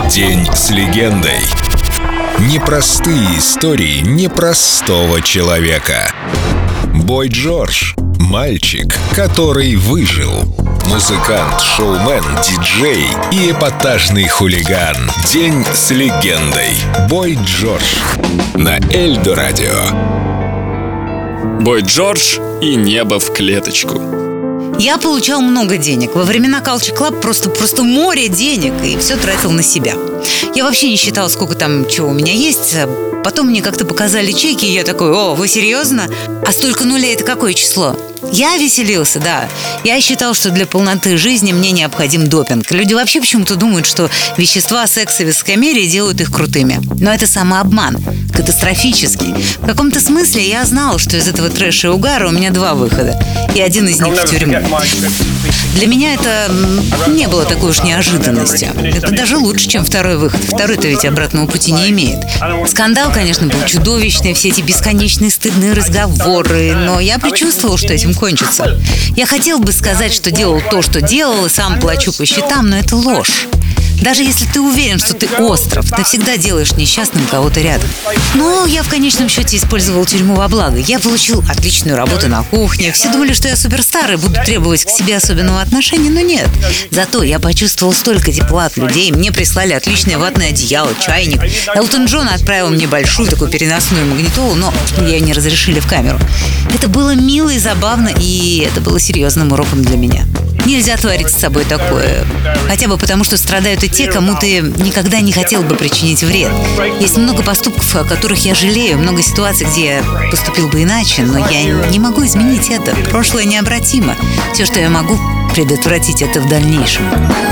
День с легендой. Непростые истории непростого человека. Бой Джордж – мальчик, который выжил. Музыкант, шоумен, диджей и эпатажный хулиган. День с легендой. Бой Джордж на Эльдо Радио. Бой Джордж и небо в клеточку. Я получал много денег. Во времена Culture Club просто море денег, и все тратил на себя. Я вообще не считала, сколько там чего у меня есть. Потом мне как-то показали чеки, и я такой: о, вы серьезно? А столько нулей — это какое число? Я веселился, да. Я считал, что для полноты жизни мне необходим допинг. Люди вообще почему-то думают, что вещества, секс и высокомерие делают их крутыми. Но это самообман. Катастрофический. В каком-то смысле я знала, что из этого трэша и угара у меня два выхода. И один из них в тюрьму. Для меня это не было такой уж неожиданностью. Это даже лучше, чем второй выход. Второй-то ведь обратного пути не имеет. Скандал, конечно, был чудовищный. Все эти бесконечные стыдные разговоры. Но я предчувствовала, что этим кончится. Я хотел бы сказать, что делал то, что делал, и сам плачу по счетам, но это ложь. Даже если ты уверен, что ты остров, ты всегда делаешь несчастным кого-то рядом. Но я в конечном счете использовал тюрьму во благо. Я получил отличную работу на кухне. Все думали, что я суперстар и буду требовать к себе особенного отношения, но нет. Зато я почувствовал столько тепла от людей. Мне прислали отличное ватное одеяло, чайник. Элтон Джон отправил мне большую такую переносную магнитолу, но ее не разрешили в камеру. Это было мило и забавно, и это было серьезным уроком для меня. Нельзя творить с собой такое. Хотя бы потому, что страдают и те, кому ты никогда не хотел бы причинить вред. Есть много поступков, о которых я жалею, много ситуаций, где я поступил бы иначе, но я не могу изменить это. Прошлое необратимо. Все, что я могу предотвратить, это в дальнейшем.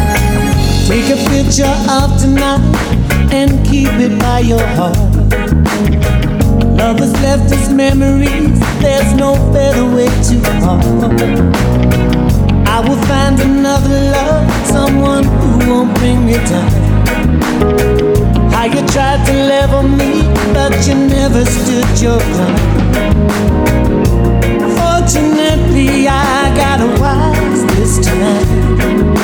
I will find another love, someone who won't bring me down. How you tried to level me, but you never stood your ground. Fortunately, I got a wise this time.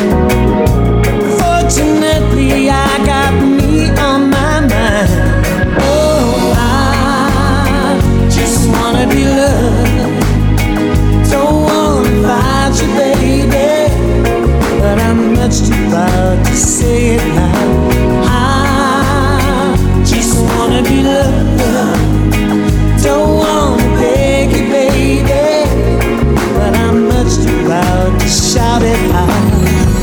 Fortunately, I got me on my mind. Oh, I just wanna be loved. Don't wanna fight you, baby, but I'm much too proud to say it now. I just wanna be loved. Don't wanna beg you, baby, but I'm much too proud to shout it out.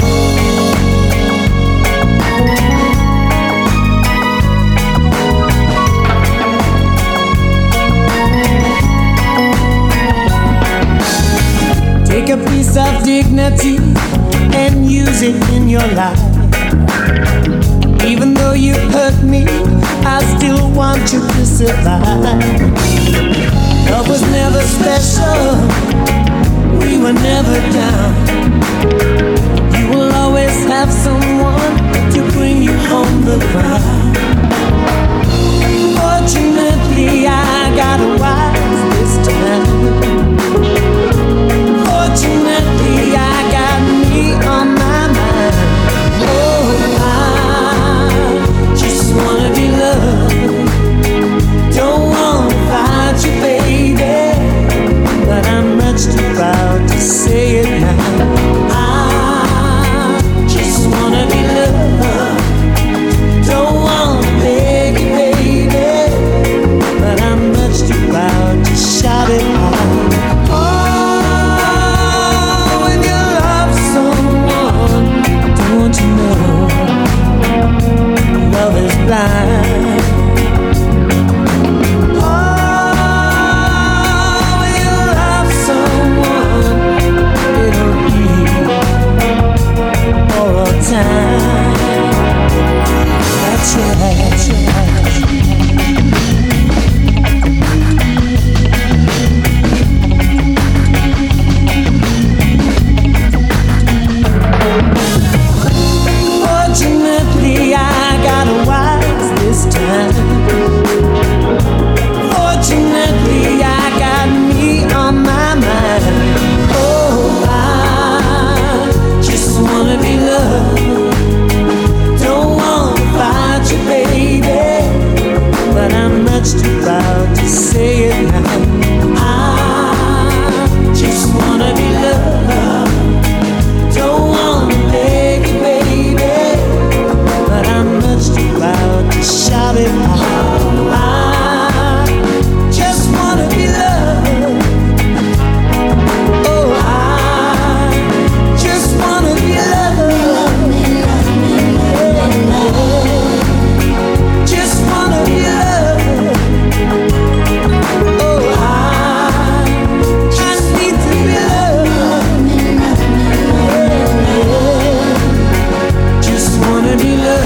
Take a piece of dignity and use it in your life. Even though you hurt me, I still want you to survive. Love was never special, we were never down. You will always have someone to bring you home the ground. Fortunately, I got a wise this time. Fortunately, I got me on my mind. Oh, I just wanna be loved. Don't wanna fight you, baby, but I'm much too proud to say it now. I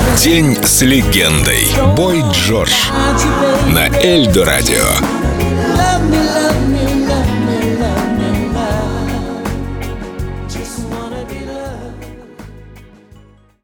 День с легендой. Бой Джордж на Эльдо радио. Love me,